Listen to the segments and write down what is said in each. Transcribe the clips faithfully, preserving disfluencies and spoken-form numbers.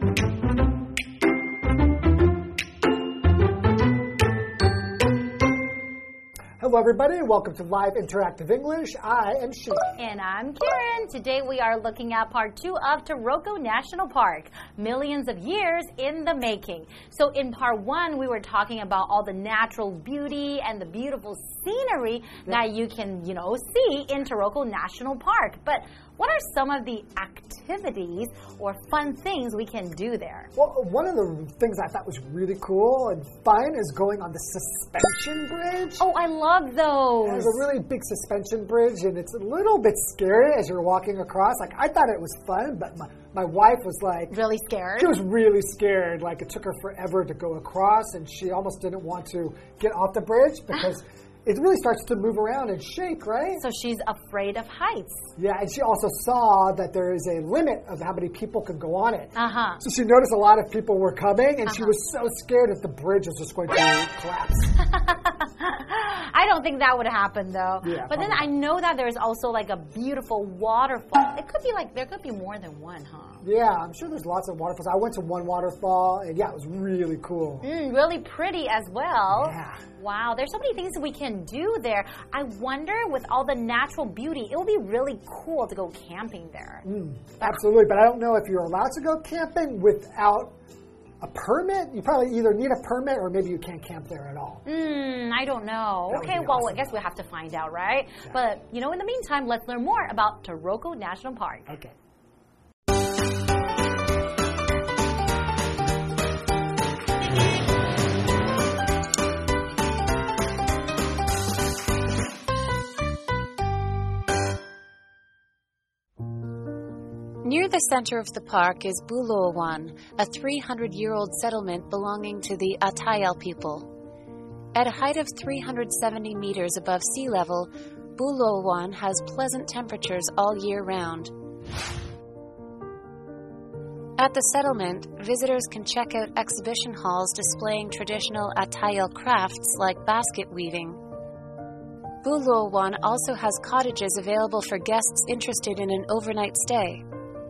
Hello, everybody. Welcome to Live Interactive English. I am Shane. And I'm Karen. Today we are looking at part two of Taroko National Park, millions of years in the making. So in part one, we were talking about all the natural beauty and the beautiful scenery yeah. that you can, you know, see in Taroko National Park. But what are some of the activities or fun things we can do there? Well, one of the things I thought was really cool and fun is going on the suspension bridge. Oh, I love those. There's a really big suspension bridge, and it's a little bit scary as you're walking across. Like, I thought it was fun, but my, my wife was like... Really scared? She was really scared. Like, it took her forever to go across, and she almost didn't want to get off the bridge because... it really starts to move around and shake, right? So she's afraid of heights. Yeah, and she also saw that there is a limit of how many people can go on it. Uh-huh. So she noticed a lot of people were coming, and uh-huh. she was so scared that the bridge was just going to collapse. I don't think that would happen, though. Yeah, but then I know that there's also like a beautiful waterfall. It could be like, there could be more than one, huh? Yeah, I'm sure there's lots of waterfalls. I went to one waterfall, and yeah, it was really cool. Mm, really pretty as well. Yeah. Wow, there's so many things that we can do there. I wonder, with all the natural beauty, it would be really cool to go camping there. Mm, absolutely, but I don't know if you're allowed to go camping without a permit. You probably either need a permit or maybe you can't camp there at all. Mm, I don't know. That okay, well, awesome. I guess we have to find out, right? Yeah. But, you know, in the meantime, let's learn more about Taroko National Park. Okay. Near the center of the park is Buloawan, a three hundred year old settlement belonging to the Atayal people. At a height of three hundred seventy meters above sea level, Buloawan has pleasant temperatures all year round. At the settlement, visitors can check out exhibition halls displaying traditional Atayal crafts like basket weaving. Buloawan also has cottages available for guests interested in an overnight stay.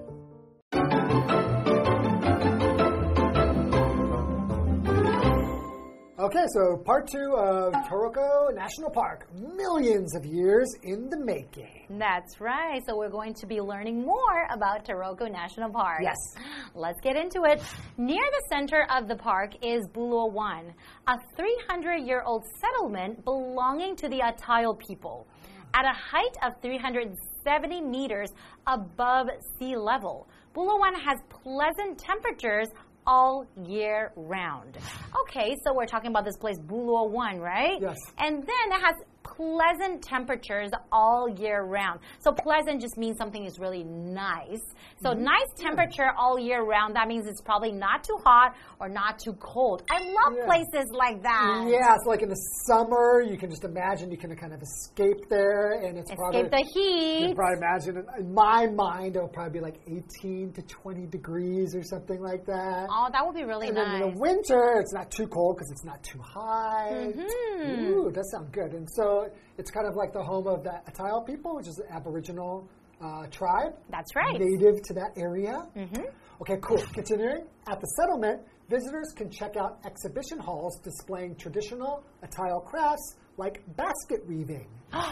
Okay, so part two of Taroko National Park, millions of years in the making. That's right. So we're going to be learning more about Taroko National Park. Yes. Let's get into it. Near the center of the park is Buloawan, a three hundred year old settlement belonging to the Atayal people. At a height of three hundred seventy meters above sea level, Buloawan has pleasant temperatures all year round. Okay, so we're talking about this place, Buloawan, right? Yes. And then it has pleasant temperatures all year round. So pleasant just means something is really nice. So mm-hmm. nice temperature yeah. all year round, that means it's probably not too hot or not too cold. I love yeah. places like that. Yeah, so like in the summer, you can just imagine you can kind of escape there, and it's escape probably... Escape the heat. You can probably imagine, in my mind, it'll probably be like eighteen to twenty degrees or something like that. Oh, that would be really and nice. And then in the winter, it's not too cold because it's not too high. Mm-hmm. Ooh, that sounds good. And so it's kind of like the home of the Atayal people, which is an Aboriginal uh, tribe. That's right. Native to that area. Mm-hmm. Okay, cool. Continuing, at the settlement, visitors can check out exhibition halls displaying traditional Atayal crafts like basket weaving.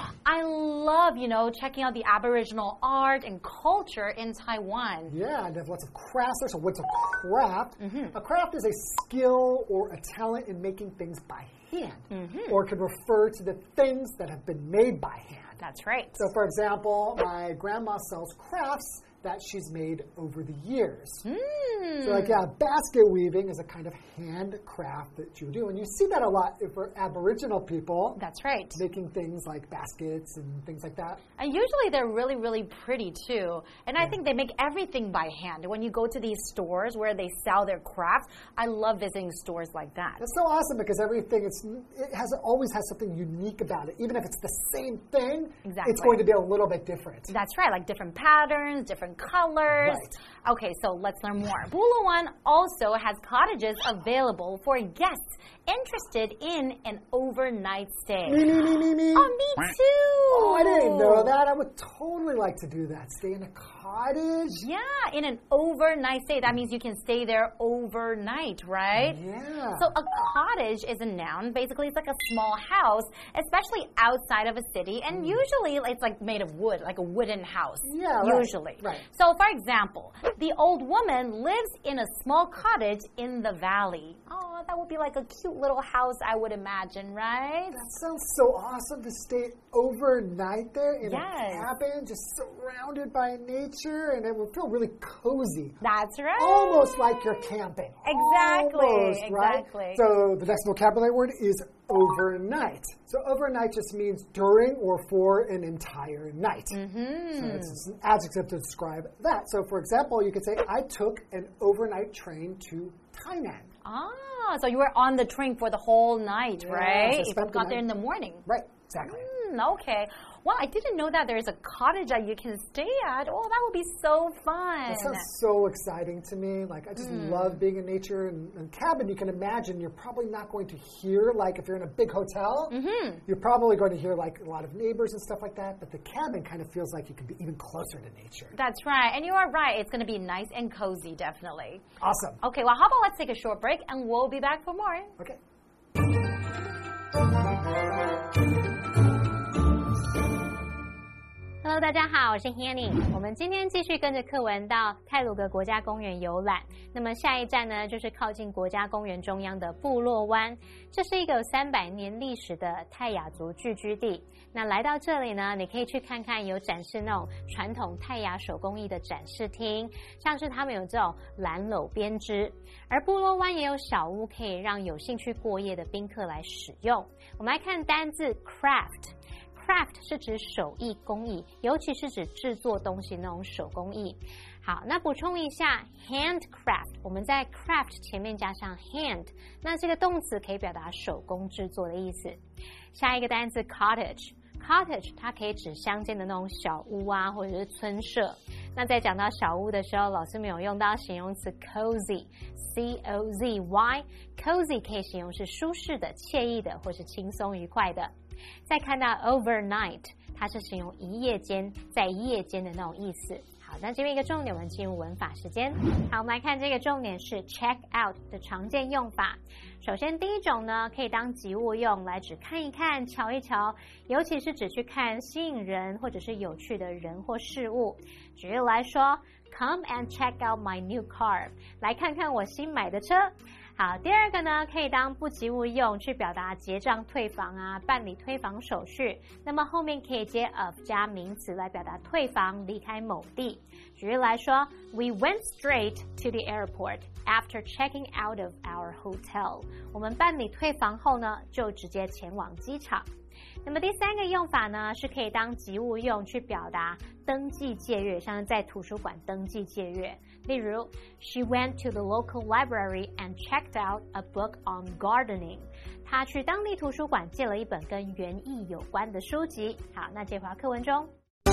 I love, you know, checking out the Aboriginal art and culture in Taiwan. Yeah, and there's lots of crafts there. So what's a craft? Mm-hmm. A craft is a skill or a talent in making things by hand, mm-hmm. or can refer to the things that have been made by hand. That's right. So, for example, my grandma sells crafts that she's made over the years. Mm. So, like, yeah, basket weaving is a kind of handcraft that you do. And you see that a lot for Aboriginal people. That's right. Making things like baskets and things like that. And usually they're really, really pretty, too. And yeah. I think they make everything by hand. When you go to these stores where they sell their crafts, I love visiting stores like that. That's so awesome because everything, it's, it has always has something unique about it. Even if it's the same thing, exactly. it's going to be a little bit different. That's right, like different patterns, different colors. Right. Okay, so let's learn more. Bulawan also has cottages available for guests interested in an overnight stay. Me, me, me, me, me. Oh, me too. Oh, I didn't know that. I would totally like to do that. Stay in a cottage. Yeah, in an overnight stay. That means you can stay there overnight, right? Yeah. So a cottage is a noun. Basically, it's like a small house, especially outside of a city. And usually, it's like made of wood, like a wooden house. Yeah, right. Usually. Right. So, for example, the old woman lives in a small cottage in the valley. Oh, that would be like a cute little house, I would imagine, right? That sounds so awesome to stay overnight there in Yes. a cabin, just surrounded by nature, and it would feel really cozy. That's right. Almost like you're camping. Exactly. Almost, right? Exactly. So the next vocabulary word is overnight. So overnight just means during or for an entire night. Mm-hmm. So it's just an adjective to describe that. So for example, you could say, I took an overnight train to Tainan. Ah, so you were on the train for the whole night, Yeah, right? so If you spent the got there in night. the morning. Right, exactly. Mm, okay. Well, I didn't know that there's a cottage that you can stay at. Oh, that would be so fun. That sounds so exciting to me. Like, I just Mm. love being in nature. And, and cabin, you can imagine you're probably not going to hear, like, if you're in a big hotel, Mm-hmm. you're probably going to hear, like, a lot of neighbors and stuff like that. But the cabin kind of feels like you can be even closer to nature. That's right. And you are right. It's going to be nice and cozy, definitely. Awesome. Okay, well, how about let's take a short break and we'll be back for more. Okay. Hello， 大家好，我是 Hanny。我们今天继续跟着課文到太魯閣國家公園遊覽。那麼下一站呢，就是靠近國家公園中央的部落灣。這是一個有三百年歷史的泰雅族聚居地。那來到這裡呢，你可以去看看有展示那種傳統泰雅手工藝的展示廳，像是他們有這種藍縷編織。而部落灣也有小屋，可以讓有興趣過夜的賓客來使用。我們來看單字 craft。Craft 是指手藝工藝，尤其是指製作東西那種手工藝。好，那補充一下 handcraft， 我們在 craft 前面加上 hand， 那這個動詞可以表達手工製作的意思。下一個單字 cottage，cottage 它可以指鄉間的那種小屋啊，或者是村舍。那在講到小屋的時候，老師沒有用到形容詞 cozy，C O Z Y，cozy 可以形容是舒適的、愜意的，或是輕鬆愉快的。再看到 overnight， 它是形容一夜間，在夜間的那種意思。好，那這邊一個重點，我們進入文法時間。好，我們來看這個重點是 check out 的常見用法。首先第一種呢，可以當及物用，來指看一看、瞧一瞧，尤其是指去看吸引人或者是有趣的人或事物。舉例來說 ，Come and check out my new car， 來看看我新買的車。好，第二個呢，可以當不及物用，去表達結賬退房啊，辦理退房手續。那麼後面可以接 of 加名詞來表達退房、離開某地。舉例來說 ，We went straight to the airport after checking out of our hotel。我們辦理退房後呢，就直接前往機場。那麼第三個用法呢，是可以當及物用去表達登記借閱，像是在圖書館登記借閱。例如 ，She went to the local library and checked out a book on gardening。她去當地圖書館借了一本跟園藝有關的書籍。好，那接回到課文中。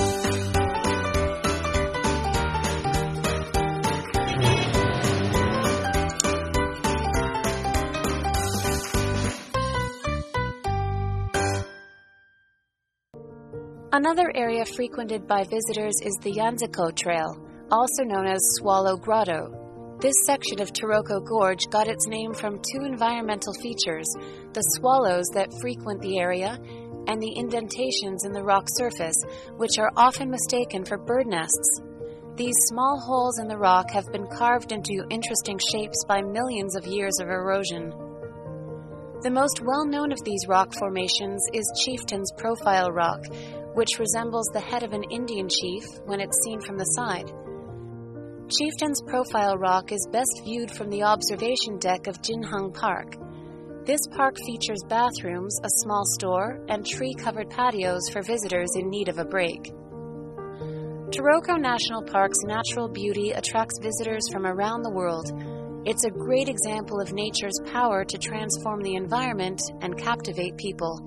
Another area frequented by visitors is the Yanziko Trail, also known as Swallow Grotto. This section of Taroko Gorge got its name from two environmental features, the swallows that frequent the area and the indentations in the rock surface, which are often mistaken for bird nests. These small holes in the rock have been carved into interesting shapes by millions of years of erosion. The most well-known of these rock formations is Chieftain's Profile Rock, which resembles the head of an Indian chief when it's seen from the side. Chieftain's Profile Rock is best viewed from the observation deck of Jinhang Park. This park features bathrooms, a small store, and tree-covered patios for visitors in need of a break. Taroko National Park's natural beauty attracts visitors from around the world. It's a great example of nature's power to transform the environment and captivate people.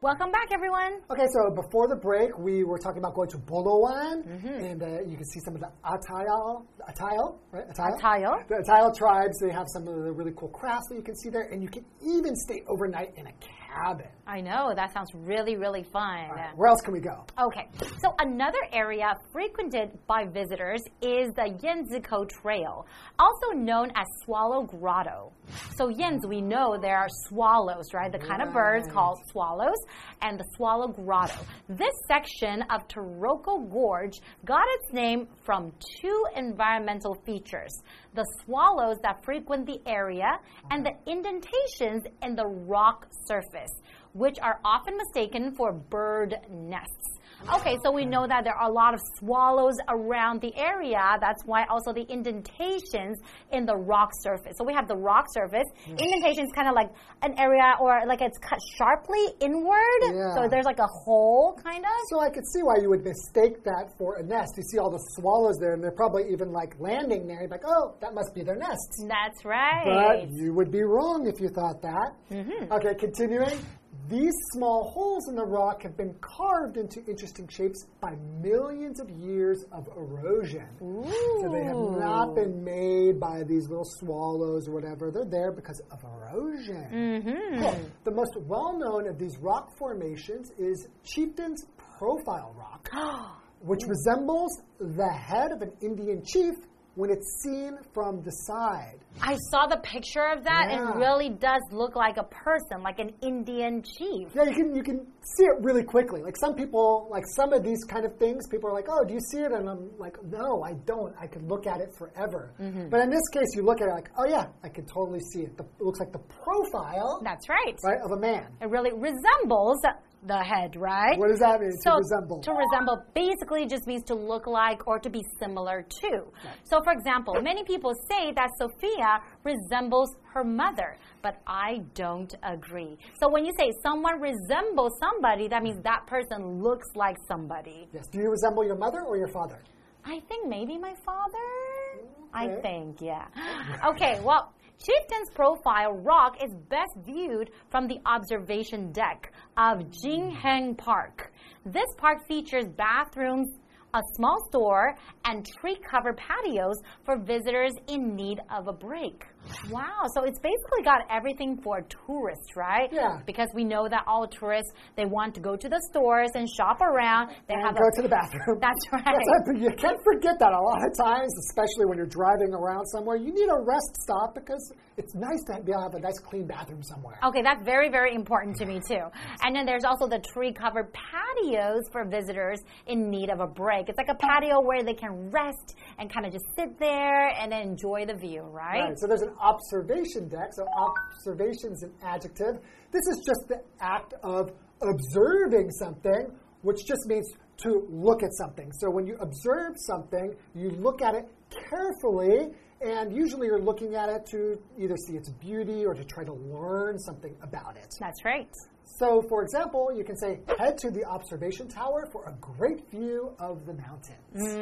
Welcome back, everyone. Okay, so before the break, we were talking about going to Bulawan, mm-hmm. and uh, you can see some of the Atayal, Atayal, right? Atayal? Atayal. The Atayal tribes, they have some of the really cool crafts that you can see there, and you can even stay overnight in a cabin. I know, that sounds really, really fun. Right, where else can we go? Okay, so another area frequented by visitors is the Yanzikou Trail, also known as Swallow Grotto. So Yanzi, we know there are swallows, right? The kind right. of birds called swallows, and the Swallow Grotto. This section of Taroko Gorge got its name from two environmental features: the swallows that frequent the area and the indentations in the rock surface, which are often mistaken for bird nests. Okay, so we know that there are a lot of swallows around the area. That's why also the indentations in the rock surface. So we have the rock surface. Yeah. Indentations kind of like an area or like it's cut sharply inward. Yeah. So there's like a hole kind of. So I could see why you would mistake that for a nest. You see all the swallows there, and they're probably even like landing there. You're like, oh, that must be their nests. That's right. But you would be wrong if you thought that. Mm-hmm. Okay, continuing. These small holes in the rock have been carved into interesting shapes by millions of years of erosion. Ooh. So they have not been made by these little swallows or whatever. They're there because of erosion. Mm-hmm. Cool. The most well-known of these rock formations is Chieftain's Profile Rock, which resembles the head of an Indian chief when it's seen from the side. I saw the picture of that, yeah. and it really does look like a person, like an Indian chief. Yeah, you can you can see it really quickly. Like some people, like some of these kind of things, people are like, oh, do you see it? And I'm like, no, I don't. I could look at it forever. Mm-hmm. But in this case, you look at it like, oh yeah, I can totally see it. The, it looks like the profile. That's right. Right, of a man. It really resembles the head, right? What does that mean, so, to resemble? To resemble basically just means to look like or to be similar to. Right. So, for example, many people say that Sophia resembles her mother, but I don't agree. So when you say someone resembles somebody, that means that person looks like somebody. Yes. Do you resemble your mother or your father? I think maybe my father. Okay. I think, yeah. Okay, well, Chieftain's Profile Rock is best viewed from the observation deck of Jingheng Park. This park features bathrooms, a small store, and tree-covered patios for visitors in need of a break. Wow, so it's basically got everything for tourists, right? Yeah. Because we know that all tourists, they want to go to the stores and shop around. They and have go a, to the bathroom. That's right. That's right. You can't forget that a lot of times, especially when you're driving around somewhere. You need a rest stop because it's nice to be able to have a nice clean bathroom somewhere. Okay, that's very, very important to me too. And then there's also the tree-covered patios for visitors in need of a break. It's like a patio where they can rest and kind of just sit there and then enjoy the view, right? Right. So there's an observation deck. So observation is an adjective. This is just the act of observing something, which just means to look at something. So when you observe something, you look at it carefully, and usually you're looking at it to either see its beauty or to try to learn something about it. That's right. So, for example, you can say, head to the observation tower for a great view of the mountains.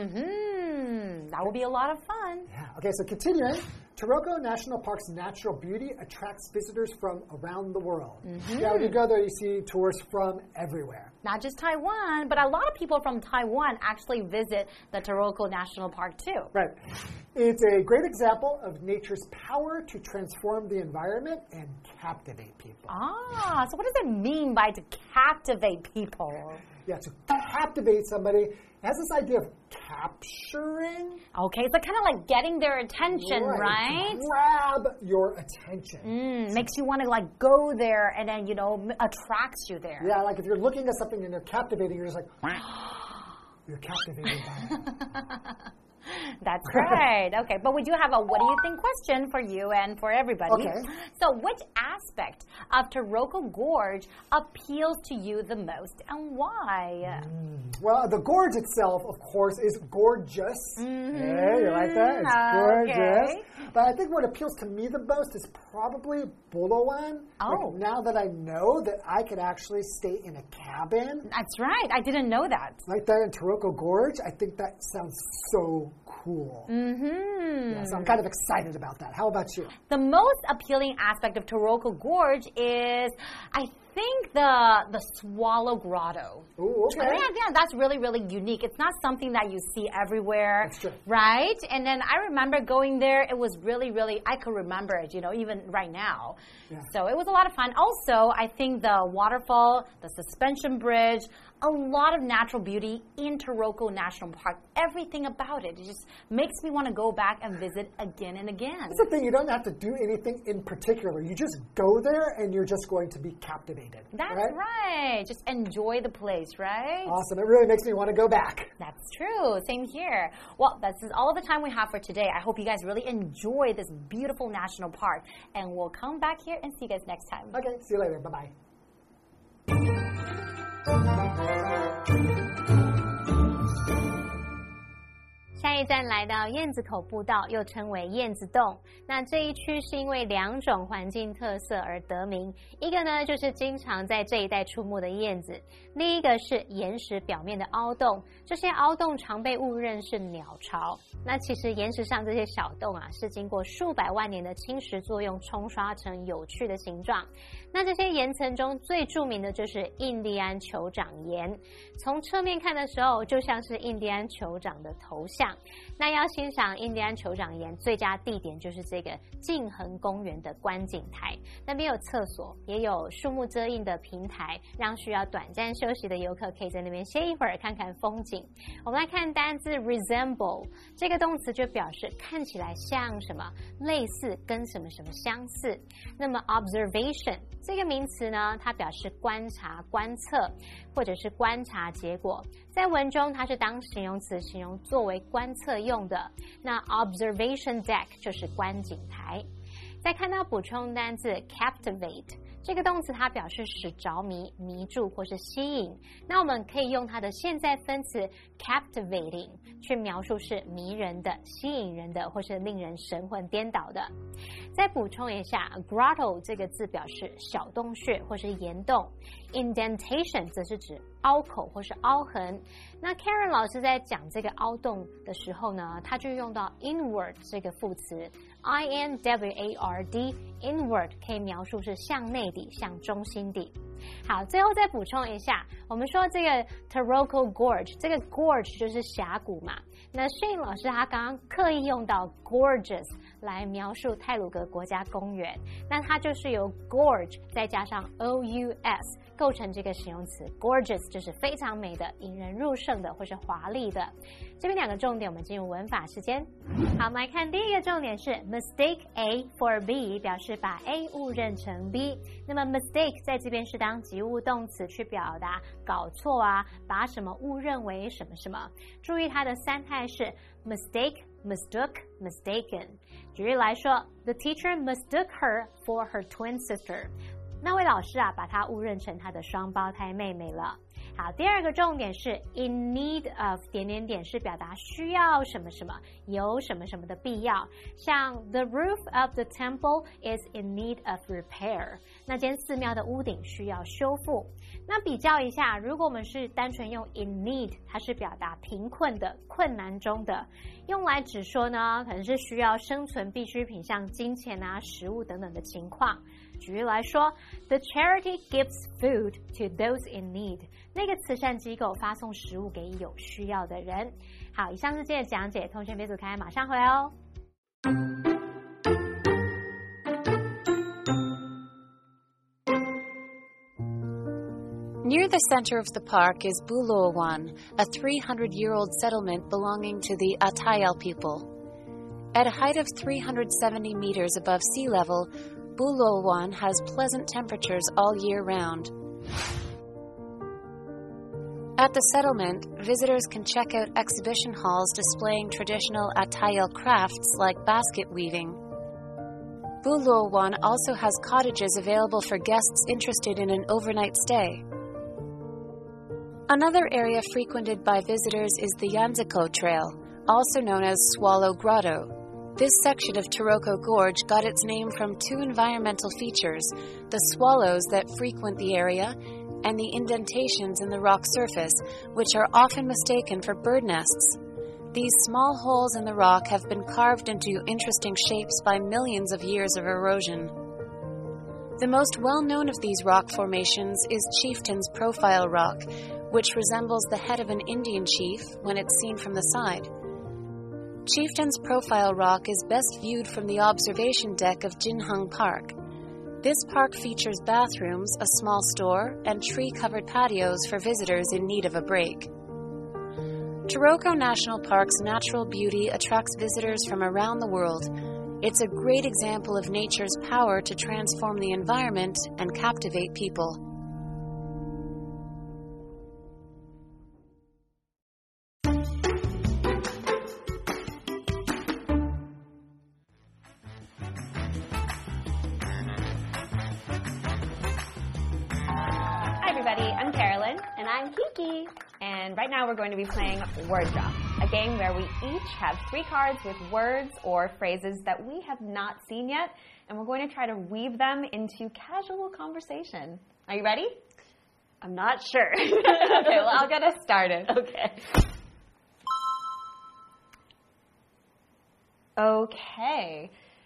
Mm-hmm. That will be a lot of fun. Yeah. Okay, so continuing. Taroko National Park's natural beauty attracts visitors from around the world. Mm-hmm. Yeah, when you go there, you see tourists from everywhere. Not just Taiwan, but a lot of people from Taiwan actually visit the Taroko National Park too. Right. It's a great example of nature's power to transform the environment and captivate people. Ah, so what does it mean by to captivate people? Yeah, to captivate somebody, it has this idea of capturing. Okay, so kind of like getting their attention, right? right? Grab your attention. Mm, makes you want to like go there and then, you know, attracts you there. Yeah, like if you're looking at something and they're captivating, you're just like, you're captivated by it. That's right. Okay, but we do have a what do you think question for you and for everybody. Okay. So which aspect of Taroko Gorge appeals to you the most and why? Mm. Well, the gorge itself, of course, is gorgeous. Mm-hmm. Hey, you like that? It's gorgeous. Okay. But I think what appeals to me the most is probably Bulawan. Oh. Like now that I know that I could actually stay in a cabin. That's right. I didn't know that. Right there in Taroko Gorge, I think that sounds so cool. Mm-hmm. Yeah, so I'm kind of excited about that. How about you? The most appealing aspect of Taroko Gorge is, I think the the Swallow Grotto. Ooh, okay. Yeah, yeah, that's really, really unique. It's not something that you see everywhere. That's true. Right? And then I remember going there. It was really, really, I could remember it, you know, even right now. Yeah. So it was a lot of fun. Also, I think the waterfall, the suspension bridge, a lot of natural beauty in Taroko National Park. Everything about it. It just makes me want to go back and visit again and again. That's the thing. You don't have to do anything in particular. You just go there and you're just going to be captivated. That's right. right. Just enjoy the place, right? Awesome. It really makes me want to go back. That's true. Same here. Well, this is all the time we have for today. I hope you guys really enjoy this beautiful national park. And we'll come back here and see you guys next time. Okay. See you later. Bye-bye. 下一站来到燕子口步道，又称为燕子洞。那这一区是因为两种环境特色而得名，一个呢就是经常在这一带出没的燕子，另一个是岩石表面的凹洞。这些凹洞常被误認是鳥巢。那其實岩石上這些小洞啊，是經過數百萬年的侵蝕作用沖刷成有趣的形狀。那這些岩層中最著名的就是印第安酋長岩，從側面看的時候，就像是印第安酋長的頭像。那要欣賞印第安酋長岩，最佳地點就是這個靜恆公園的觀景台，那邊有廁所，也有樹木遮蔭的平台，讓需要短暫休息的遊客可以在那邊歇一會兒，看看風景。我們來看單字 resemble， 這個動詞就表示看起來像什麼，類似跟什麼什麼相似。那麼 observation 這個名詞呢，它表示觀察、觀測，或者是觀察結果。在文中，它是當形容詞形容作為觀測用的。那 observation deck 就是觀景台。再看到補充單字 captivate， 這個動詞它表示使着迷、迷住或是吸引。那我們可以用它的現在分詞 captivating 去描述是迷人的、吸引人的或是令人神魂顛倒的。再補充一下 grotto 這個字表示小洞穴或是岩洞， indentation 則是指凹口或是凹痕。那 Karen 老師在講這個凹洞的時候呢，他就用到 inward 這個副詞 I N W A R D inward 可以描述是向內底、向中心底。好，最後再補充一下，我們說這個 Taroko Gorge， 這個 Gorge 就是峽谷嘛。那 Shane 老師他剛剛刻意用到 gorgeous 來描述太魯閣國家公園，那它就是由 gorge 再加上 O U S 構成這個形容詞 gorgeous 就是非常美的、引人入勝的或是華麗的。這邊兩個重點，我們進入文法時間。好，我們來看第一個重點是 mistake A for B， 表示把 A 誤認成 B。那麼 mistake 在這邊是當及物動詞去表達搞錯啊，把什麼誤認為什麼什麼。注意它的三態是 mistake、mistook、mistaken。舉例來說 ，The teacher mistook her for her twin sister。那位老師啊，把她誤認成她的雙胞胎妹妹了。好，第二個重點是 in need of 點點點是表達需要什麼什麼，有什麼什麼的必要。像 the roof of the temple is in need of repair， 那間寺廟的屋頂需要修復。那比較一下，如果我們是單純用 in need， 它是表達貧困的、困難中的，用來指說呢，可能是需要生存必需品，像金錢啊、食物等等的情況。舉例來說 ，The charity gives food to those in need。那個慈善機構發送食物給有需要的人。好，以上是今天的講解，同學別走開，馬上回來哦。 Near the center of the park is Buluawan, a three hundred year old settlement belonging to the Atayal people. At a height of three hundred seventy meters above sea level, Buluawan has pleasant temperatures all year round. At the settlement, visitors can check out exhibition halls displaying traditional Atayal crafts like basket weaving. Buluawan also has cottages available for guests interested in an overnight stay. Another area frequented by visitors is the Yanziko Trail, also known as Swallow Grotto. This section of Taroko Gorge got its name from two environmental features, the swallows that frequent the area and the indentations in the rock surface, which are often mistaken for bird nests. These small holes in the rock have been carved into interesting shapes by millions of years of erosion. The most well-known of these rock formations is Chieftain's Profile Rock, which resembles the head of an Indian chief when it's seen from the side. Chieftain's Profile Rock is best viewed from the observation deck of Jinheng Park. This park features bathrooms, a small store, and tree-covered patios for visitors in need of a break. Taroko National Park's natural beauty attracts visitors from around the world. It's a great example of nature's power to transform the environment and captivate people. I'm Carolyn. And I'm Kiki. And right now we're going to be playing Word Drop, a game where we each have three cards with words or phrases that we have not seen yet, and we're going to try to weave them into casual conversation. Are you ready? I'm not sure. Okay, well, I'll get us started. Okay. Okay.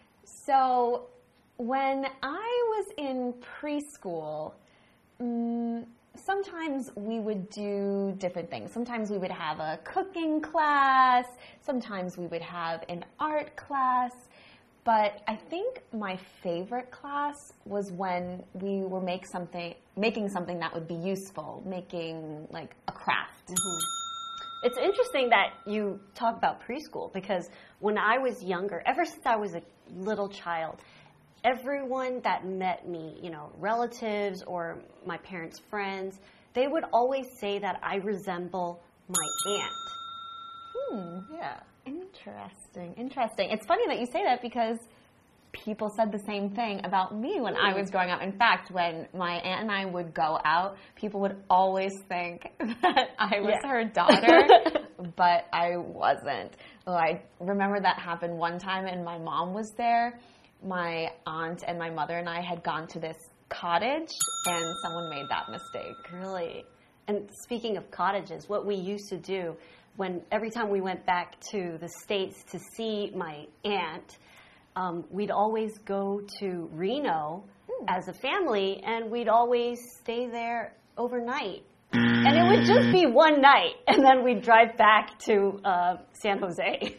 So when I was in preschool, um, sometimes we would do different things. Sometimes we would have a cooking class. Sometimes we would have an art class. But I think my favorite class was when we were make something, making something that would be useful, making like a craft. Mm-hmm. It's interesting that you talk about preschool because when I was younger, ever since I was a little child, everyone that met me, you know, relatives or my parents' friends, they would always say that I resemble my aunt. Hmm, yeah. Interesting, interesting. It's funny that you say that because people said the same thing about me when I was growing up. In fact, when my aunt and I would go out, people would always think that I was yeah. her daughter, but I wasn't. Oh, I remember that happened one time and my mom was there. My aunt and my mother and I had gone to this cottage, and someone made that mistake. Really? And speaking of cottages, what we used to do when every time we went back to the States to see my aunt, um, we'd always go to Reno mm. as a family, and we'd always stay there overnight. And it would just be one night, and then we'd drive back to uh, San Jose.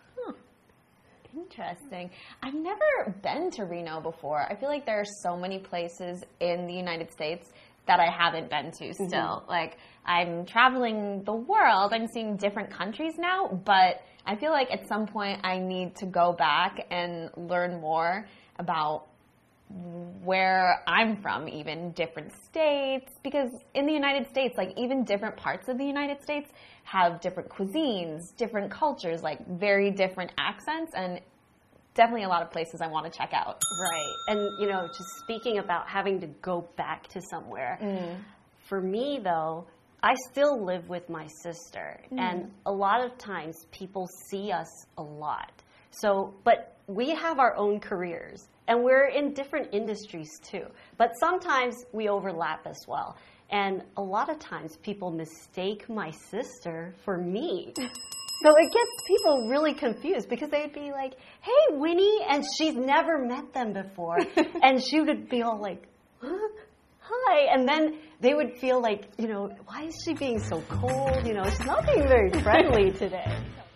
Interesting. I've never been to Reno before. I feel like there are so many places in the United States that I haven't been to still. Mm-hmm. Like, I'm traveling the world. I'm seeing different countries now, but I feel like at some point I need to go back and learn more about where I'm from, even different states, because in the United States, like even different parts of the United States have different cuisines, different cultures, like very different accents, and definitely a lot of places I want to check out. Right. And, you know, just speaking about having to go back to somewhere, mm. for me, though, I still live with my sister, mm. and a lot of times people see us a lot. So, but we have our own careers, and we're in different industries too. But sometimes we overlap as well. And a lot of times people mistake my sister for me. So it gets people really confused because they'd be like, hey, Winnie, and she's never met them before. And she would be all like, huh? Hi. And then they would feel like, you know, why is she being so cold? You know, she's not being very friendly today.